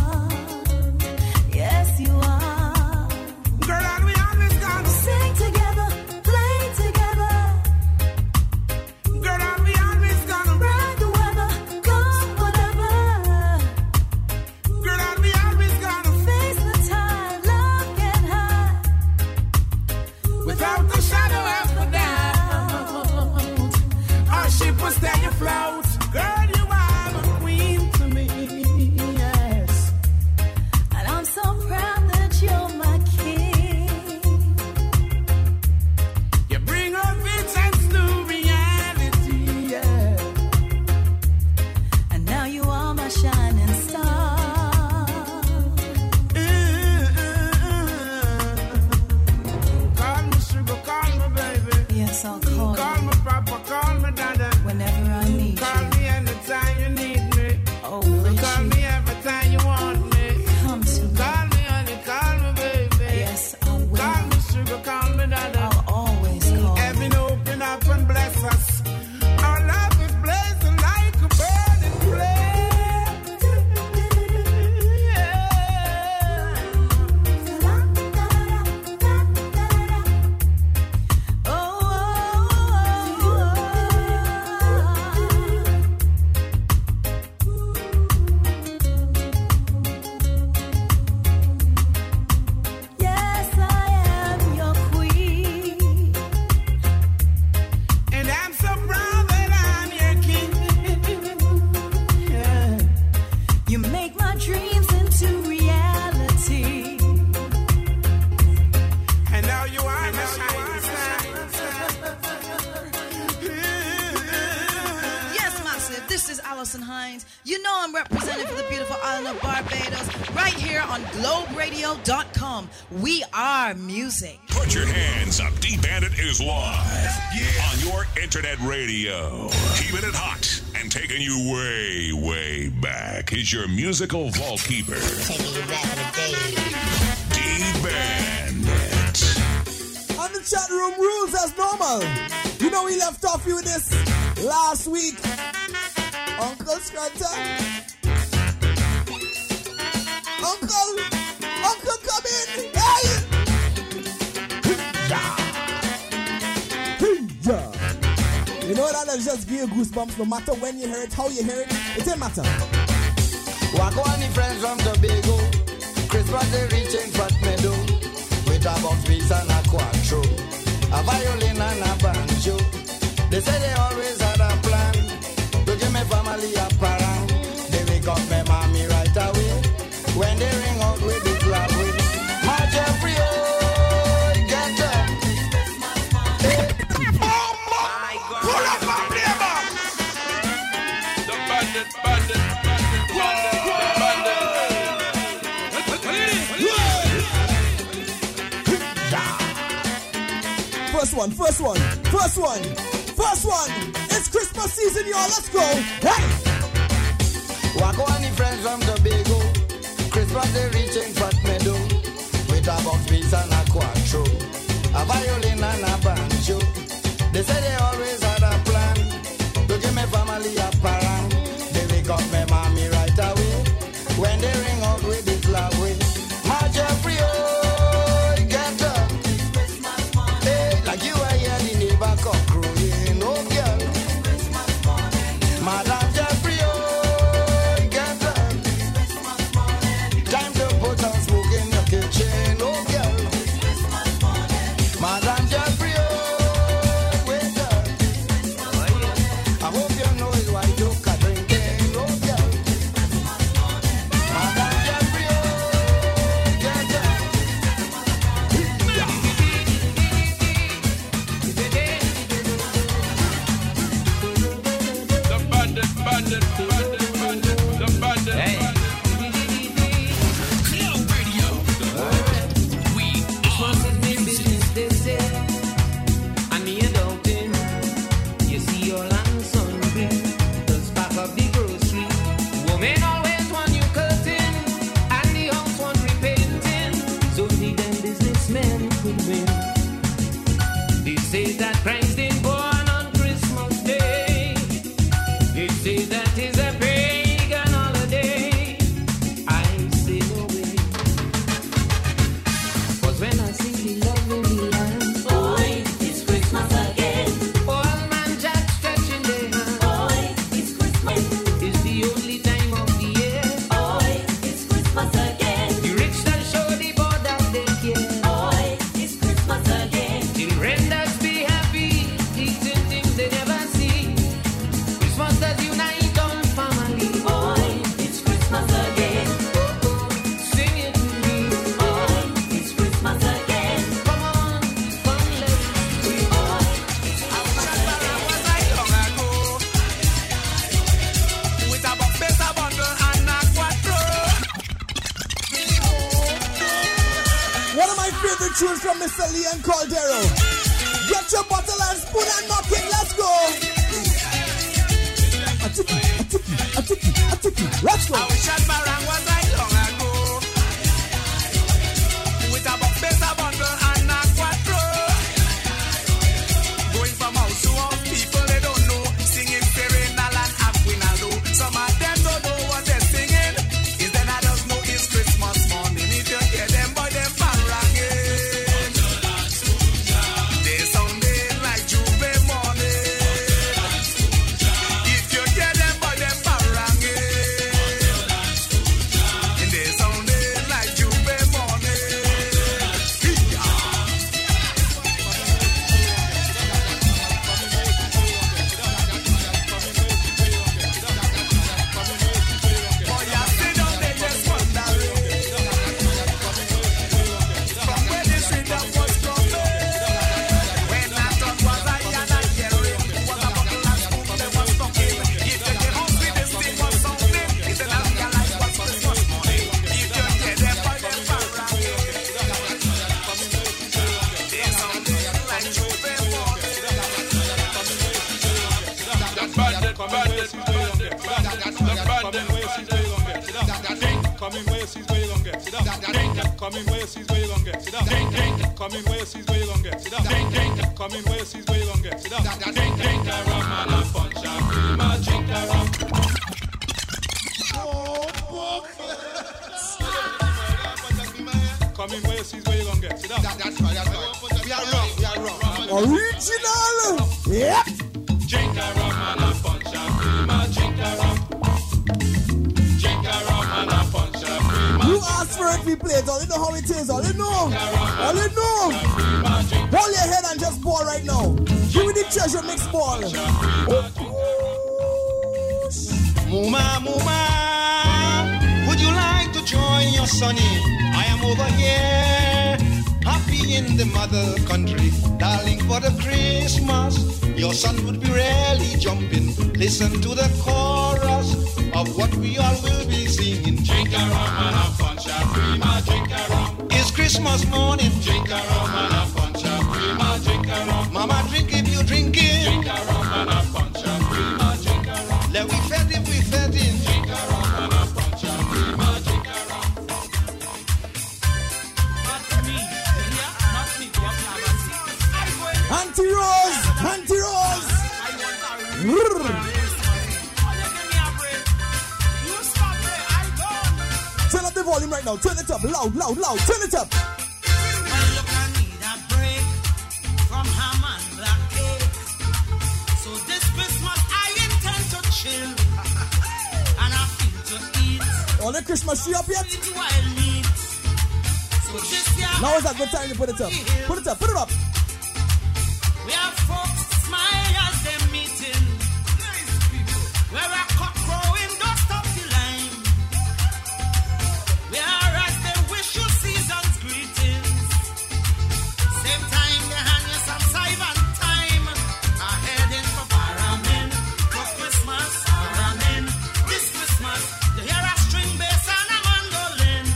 Yes, you are. Girl, and we always gonna sing together, play together. Girl, and we always gonna ride the weather, go whatever. Girl, and we always gonna face the tide, love can hide. Without the shadow of a doubt, our ship will stay afloat. Girl, you are the queen to me, yes. And I'm so proud that you're my king. You bring our visions to reality, yeah. And now you are my shining star. Call me sugar, call me baby. Yes, I'll call you. Call me papa, call me dada. Whenever I need Call you. me anytime you need me. Oh, Call me every time you want me. Come to me. Call me honey, call me baby. Yes, I will. Call me sugar, call me dada. I'll always call Heaven open up and bless us. Our love is blazing like a burning flame. Yes, I am your queen. And I'm so proud that I'm your king. Yeah. You make my dreams into reality. And now you are my shining star. Yes, massive. This is Allison Hines. You know I'm representing for the beautiful island of Barbados right here on globeradio.com. We are music. Put your hands up. D-Bandit is live on your internet radio. Keeping it hot and taking you way, way back. He's your musical vault keeper. Taking you back in the day. D-Bandit. room rules as normal. You know we left off you with this last week. Uncle Scrunter. Uncle, come in. Hey! You know that'll just give you goosebumps no matter when you hear it, how you hear it. It doesn't matter. Walk on the friends from Tobago. Christmas they reaching Fat Meadow. With a box piece and a quattro, a violin and a banjo. They say they always had a plan to give me family a parang. They wake up my mommy right away when they ring out with the club with my Jeffrey, oh, get up. Pull up and play back. The bandit. First one. It's Christmas season, y'all. Let's go. Hey! Walk on the friends from Tobago. Christmas they reaching Fat Meadow. With a box piece and a quattro, a violin and a banjo. They say they always had a plan to give me family a parang. They wake up my mommy right away when they ring out with this love way. My Jeffrey, oh, get up. Hey, like you are here, the neighbor cock crowing, oh girl. Madam Jeffrey, oh, get up. Time to put on smoke in your kitchen, oh girl. Madam Jeffrey, oh, wake up. I hope you know it's why you can drinking, oh girl. Madam Jeffrey, oh, get up. The bandit. Hey. Globe Radio. We are business, they say. And me a doubting. You see your land sun green. Just pack up the grocery. Women always want new curtain. And the house want repainting. So the them businessmen could win. They say that Christ ain't born on Christmas Day. They say that is a pagan holiday. I say no way. 'Cause when I see the love in the land, boy, it's Christmas again. All man just stretching their hand, boy, it's Christmas. It's the only time of the year, boy, it's Christmas again. The rich that show the poor that they care, boy, it's Christmas again. Children that be happy, eating things they never see. Christmas that unite all family, boy, it's Christmas again. Sing it to me, boy, it's Christmas again. Come on, let's do it, boy. with a better bundle and a quattro. One of my favorite tunes from Mr. Leon Caldero. Get your bottle and spoon and knock it. Let's go. A tiki. Let's go. I wish that Barang was right long ago. With a better bundle and a quattro. Going from house to house, people they don't know. Singing Serenal and Aquinaldo. Some of them don't know what they're singing. Is then I just know it's Christmas morning. If you hear them boy, them paranging. They sounding like Juve morning. If you hear them boy, them paranging. Come in where you see where you gonna get. Sit down. Come in where you see where you gonna get. Sit down. Come in where you see where you gonna get. Sit down. Drink a rum and a punch and cream and drink a rum. Come in where you see where you gonna get. Sit down. That's right. We are wrong. Original. Yep. Drink a rum and a punch and cream and drink a rum. Drink a rum and a punch and cream. You ask for it, we play it. All you know how it is. All you know. All you know. Hold your head and just ball right now. Give me the treasure mix ball. Muma, Muma, would you like to join your sonny? I am over here, happy in the mother country, darling, for the Christmas. Your son would be really jumping. Listen to the chorus of what we all will be singing. Drink a rum and a punch and cream and drink a rum. It's Christmas morning. Drink a rum and a punch and cream and drink a rum. Mama, drink if you drink it. Drink a rum and a punch and cream and drink a rum. Let we fed it, we fed it. Drink a rum and a punch and cream and drink a rum. Auntie Rose, Auntie Rose. Turn up the volume right now. Turn it up, loud, loud, loud. Turn it up. Well, look, I need a break from ham and black cake. So this Christmas I intend to chill, and I feel to eat. All the Christmas tree up yet? Wild meat. So this year Now is a good time to put it up. Put it up, put it up. we have folks smile as they're meeting. Nice people. Where a cock crowing, don't stop the line. Whereas they wish you season's greetings. Same time they hand you some Sivan time. I'm heading for Paramin for Christmas. Paramin this Christmas. You hear a string bass and a mandolin.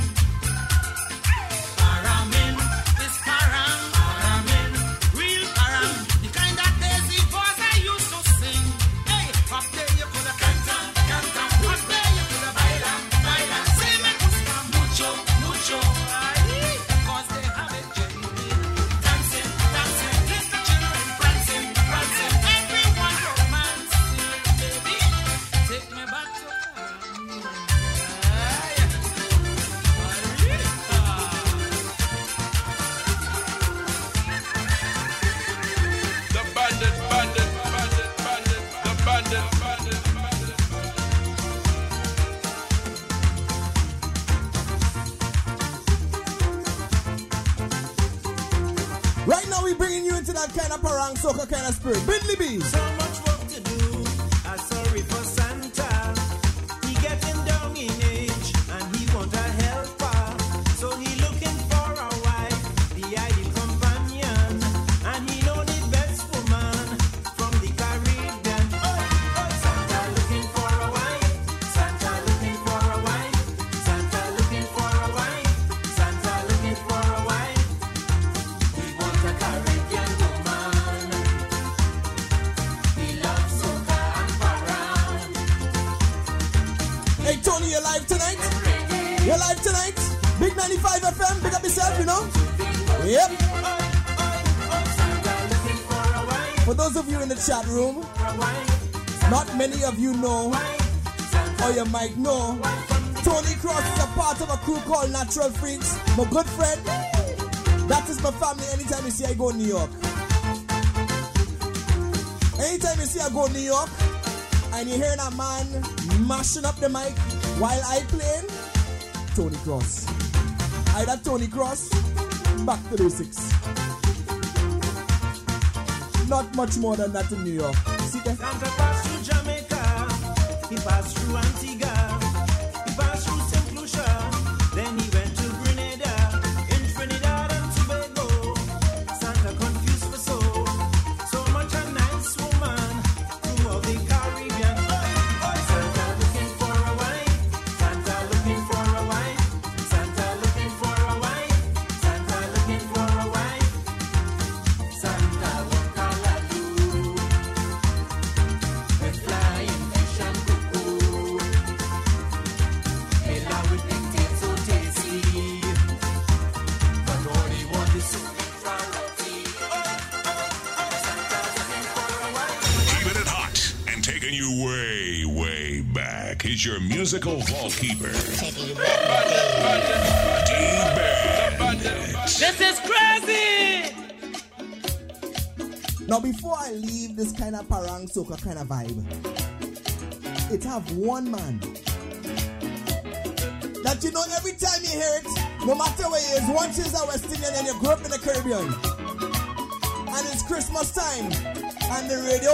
Paramin is param. Paramin real param. The kind that Daisy boys I used to sing. Hey, up there you coulda canta, canta. Up there you coulda baila, baila. Say me gusta mucho, mucho. Ay, 'cause they have it genuine. Dancing, dancing, let the children prancing, prancing. Everyone romancing, baby. Take me back to Paramin. Ay, The bandit, bandit, bandit, bandit, the bandit, bandit, bandit. Right now we bringing you into that kind of parang soca kind of spirit. Bidley B. So much work to do. I'm sorry for Santa. He getting down in age and he want a helper. So he looking for a wife, the ideal companion, and he know the best woman from the Caribbean. Santa looking for a wife. Santa looking for a wife. Santa looking for a wife. Santa looking for a wife. He wants a Caribbean woman. He loves soca and parang. Hey Tony, you live tonight? You live tonight? Big 95 FM, big up yourself, you know? Yep. For those of you in the chat room, not many of you know, or you might know, Tony Cross is a part of a crew called Natural Freaks. My good friend, that is my family. Anytime you see I go to New York. Anytime you see I go to New York, and you hear that man mashing up the mic while I playing, Tony Cross. Either Tony Cross, back to basics. Not much more than that in New York. See that? Santa passed through Jamaica, he passed through Antigua, he passed through St. Lucia, then he went to Grenada, in Trinidad and Tobago. Santa confused for so much a nice woman, through all the Caribbean. Santa looking for a wife, Santa looking for a wife, Santa looking for a wife, Santa looking for a wife, Santa what can I do? With flying fish and cuckoo. is your musical vault keeper, This is crazy! Now, before I leave this kind of parang soca kind of vibe, it have one man that you know every time you hear it, no matter where it is, once you're a West Indian and you grew up in the Caribbean, and it's Christmas time, and the radio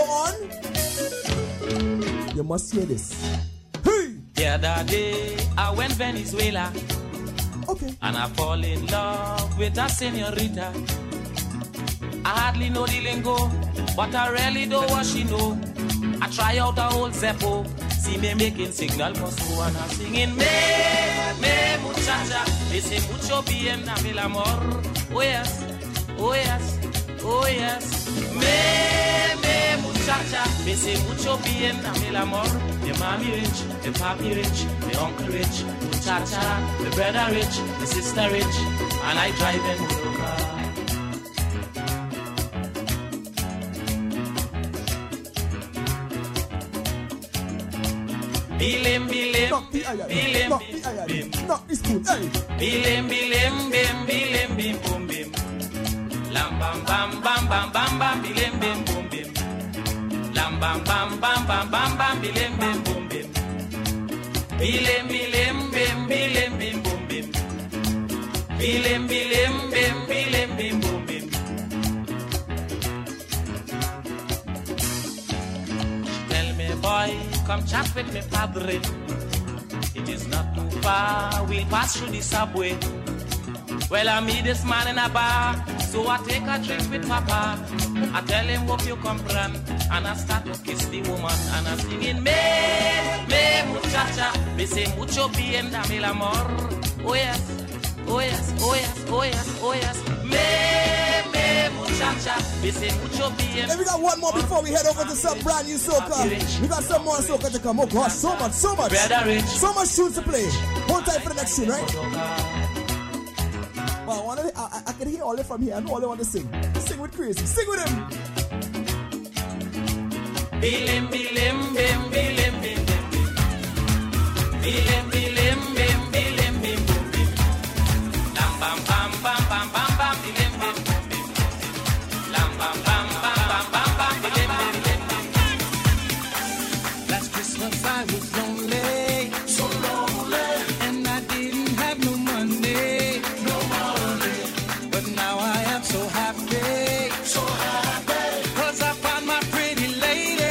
on, you must hear this. Hey! The other day, I went Venezuela. Okay. And I fall in love with a señorita. I hardly know the lingo, but I really know what she know. I try out the whole Zeppo. See me making signal for so and I'm singing me muchacha. Ese mucho bien dame el amor. Oh yes, oh yes, oh yes. Me muchacha. Ese mucho bien dame el amor. The mommy rich, the papi rich, the uncle rich. Muchacha, the brother rich, the sister rich. And I drive in motor. Bilim, bilim, bilim, bim, knock this spoon, hey. Bilim, bilim, bim, bilim, bim, boom, bim. Lam, bam, bam, bam, bam, bam, bam, bilim, bim, boom, bim. Lam, bam, bam, bam, bam, bam, bam, bilim, bim, boom, bim. Bilim, bilim, bim, bilim, bim, boom, bim. Bilim, bilim, bim, bilim, bim, boom, bim. Tell me, boy, come chat with me, padre. It is not too far, we'll pass through the subway. Well, I meet this man in a bar, so I take a drink with papa. I tell him, hope you comprehend, and I start to kiss the woman, and I'm singing, me muchacha, me say mucho bien, dame el amor. Oh yes, oh yes, oh yes, oh yes, oh yes. Me muchacha, me say mucho bien. And we got one more before we head over to some brand new soca. We got some more soca to come. Oh gosh, so much. So much tunes to play. Hold tight for the next tune, right? Well, I can hear all it from here. I know all they want to sing. Sing with Crazy. Sing with him. Bilim, bilim, bim, bilim, bim, bim, bim. Bilim, bilim, bim, bilim, bim, bim, bim. Lam, bam, bam, bam, bam, bam, bam, bilim, bim, bim, bim. Lam, bam, bam, bam, bam, bam, bam, bilim, bim, bim, bim. Last Christmas I was lonely, so lonely, and I didn't have no money, but now I am so happy, so happy, 'cause I found my pretty lady.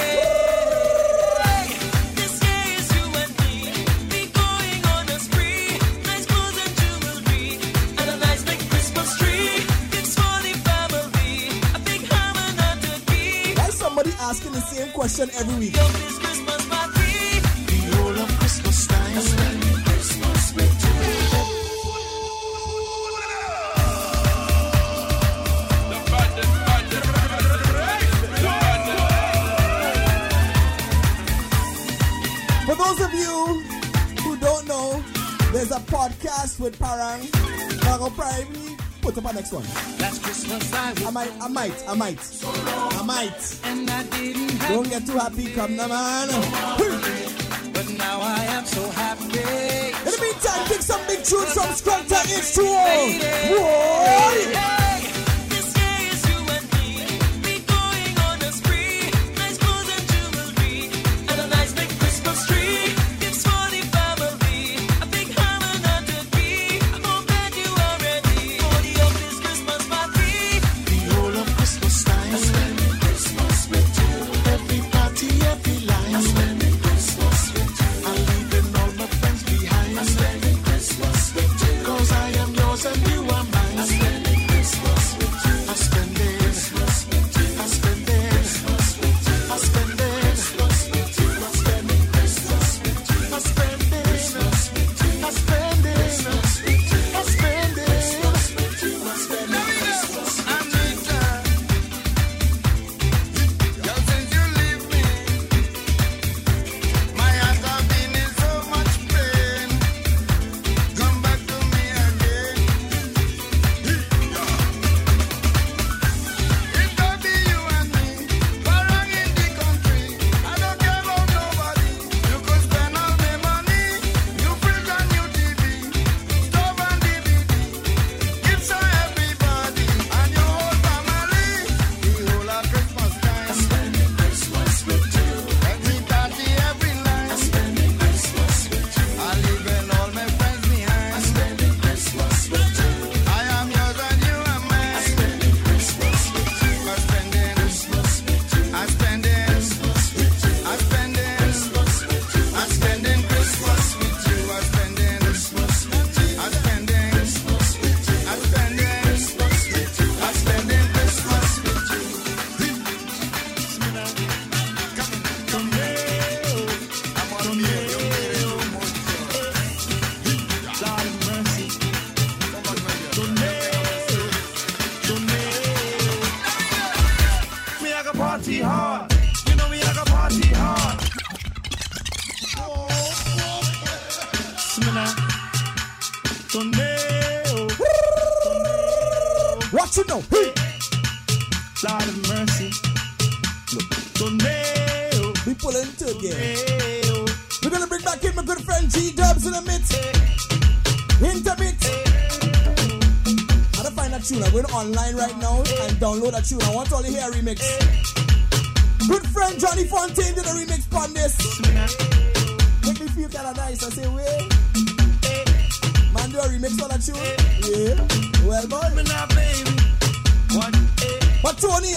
This year is you and me, we going on a spree, nice clothes and jewelry, and a nice big Christmas tree. It's for the family, a big ham and a turkey. Why is somebody asking the same question every week? This Christmas party, the whole of Christmas time, spending Christmas with you. For those of you who don't know, there's a podcast with Parang. I'll probably put up our next one. Last Christmas I might. And I didn't have Don't get too happy, come now, man. but now I am so happy. In the meantime, pick some big tunes from Scrunter H2O. Whoa! This year is you and me, we going on a spree, nice clothes and jewelry, and a nice big Christmas tree. It's for the family, a big ham and a turkey. I hope that you are ready for the of this Christmas party. The whole of Christmas time, spending Christmas with you. Every party, every line, spending Christmas with you. I'm leaving all my friends behind, spending Christmas with you. 'Cause I am yours and you are mine. party hard. You know we like a party hard. Smina, tornado. What you know? Hey. Lord of mercy. Tornado. We pulling to again. We're gonna bring back in my good friend G-Dubs in a minute. Intermit. I don't find that tune. I'm going online right now and download that tune. I want all to hear a remix. Good friend Johnny Fontaine did a remix on this. Make me feel kind of nice. I say, wait. Man, do a remix on that tune? Yeah. Well, boy. But Tony,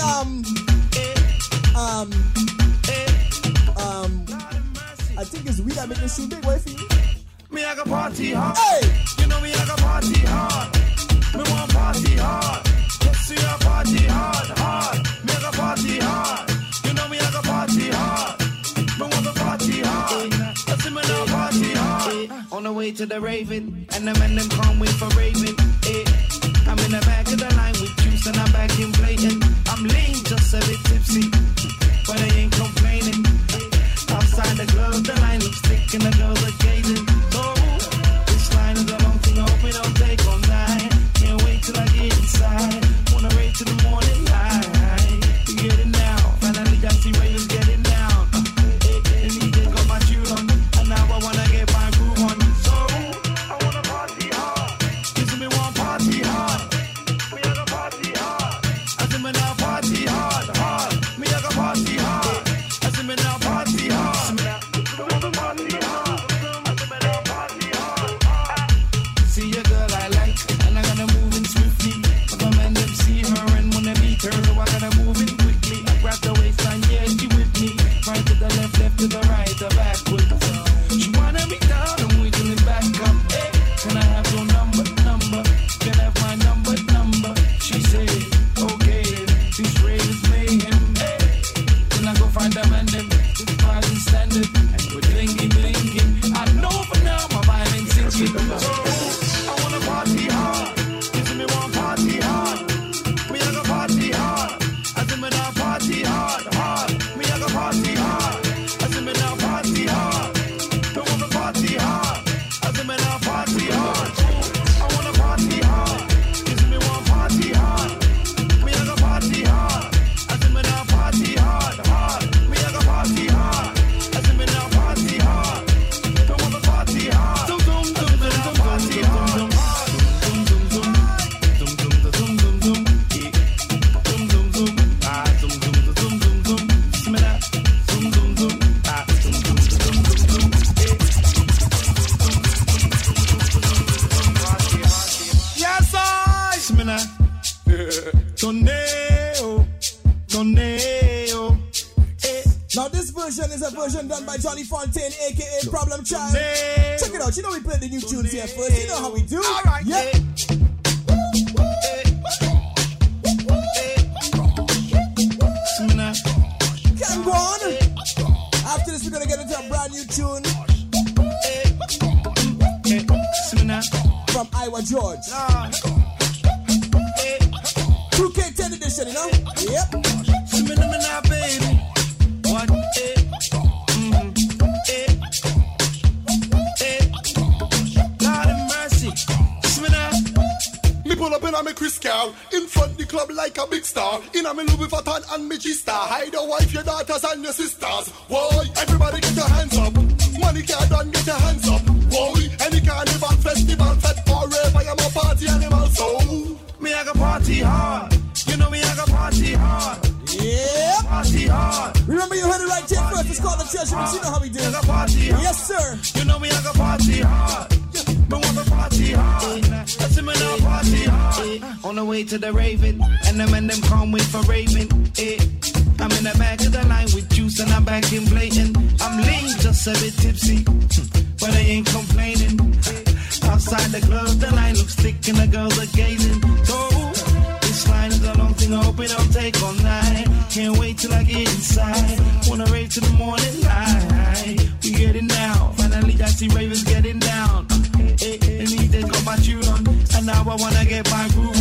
I think it's we that make the shoe big. Why for you? Me like a party hard. Hey! You know me like a party hard. Me want party hard. Let's see a party hard, hard. Me like a party hard. You know me like a party hard. Me want the party hard. Let's see me now party hard. On the way to the Raven, and the men them can't wait for Raven. I'm in the back of the line with juice and I'm back in blatant. I'm lean, just a bit tipsy, but I ain't complaining. Outside the club, the line looks thick and the girls are gazing. Oh, this line is a long thing, I hope it don't take all night. Can't wait till I get inside. Wanna rave till the morning light. We get it now, finally I see ravens getting down. And he just got my tune on, and now I wanna get my groove on. So, I wanna party hard. This me want party hard. Me like a party hard. I see me now party hard, hard. Me like a party hard. I see me now party hard. See a girl I like, and I'm gonna move in swiftly. If a man them see her and wanna meet her, so I gotta move in quickly. I grab the waistline, yeah, she with me. Right to the left, left to the right, the backwards. She wanna be down and wiggling back up. Hey, can I have your number? Can I have my number? She said, okay, this rave is mayhem. Hey, then I go find them and them. Standard and we're blinking. I know for now my mind ain't sinking. So I wanna party hard. You see me want party hard. Me like a party hard. I see me now party hard, hard. Me like a party hard. I see me now party hard. Don't wanna party hard. I see me now party hard. I wanna party hard. You see me want party hard. Me like a party hard. I see me now party hard, hard. Me like a party hard. Now this version is a version done by Johnny Fontaine, aka Problem Child. Check it out. You know we play the new tunes here first. You know how we do. All right. Yeah. Can go on. After this, we're gonna get into a brand new tune from Iowa George. 2K10 edition, you know? Yep. Baby. What? Lord of mercy. Me pull up in a me Chris car, in front the club like a big star. In a me Louis Vuitton and me G-Star. Hide your wife, your daughters and your sisters. Why? Everybody get your hands up. Money can't done, get your hands up. Why? Any carnival, festival, fete, forever, I'm a party animal, so me I go party hard. You know me I go party hard. Yeah. Party hard. Remember you heard it right here first. It's called the treasure. You know how we do. Party hard. Yes, sir. You know me I go party hard. Me want to party hard. Let's me now party hard. On the way to the Raven, and the men them can't wait for Raven. I'm in the back of the line with juice and I'm back in blatant. I'm lean, just a bit tipsy, but I ain't complaining. Outside the club, the line looks thick and the girls are gazing. So this line is a long thing, I hope it don't take all night. Can't wait till I get inside. Wanna rave till the morning light. We getting down, finally I see ravens getting down. And he just got my tune on, and now I wanna get my groove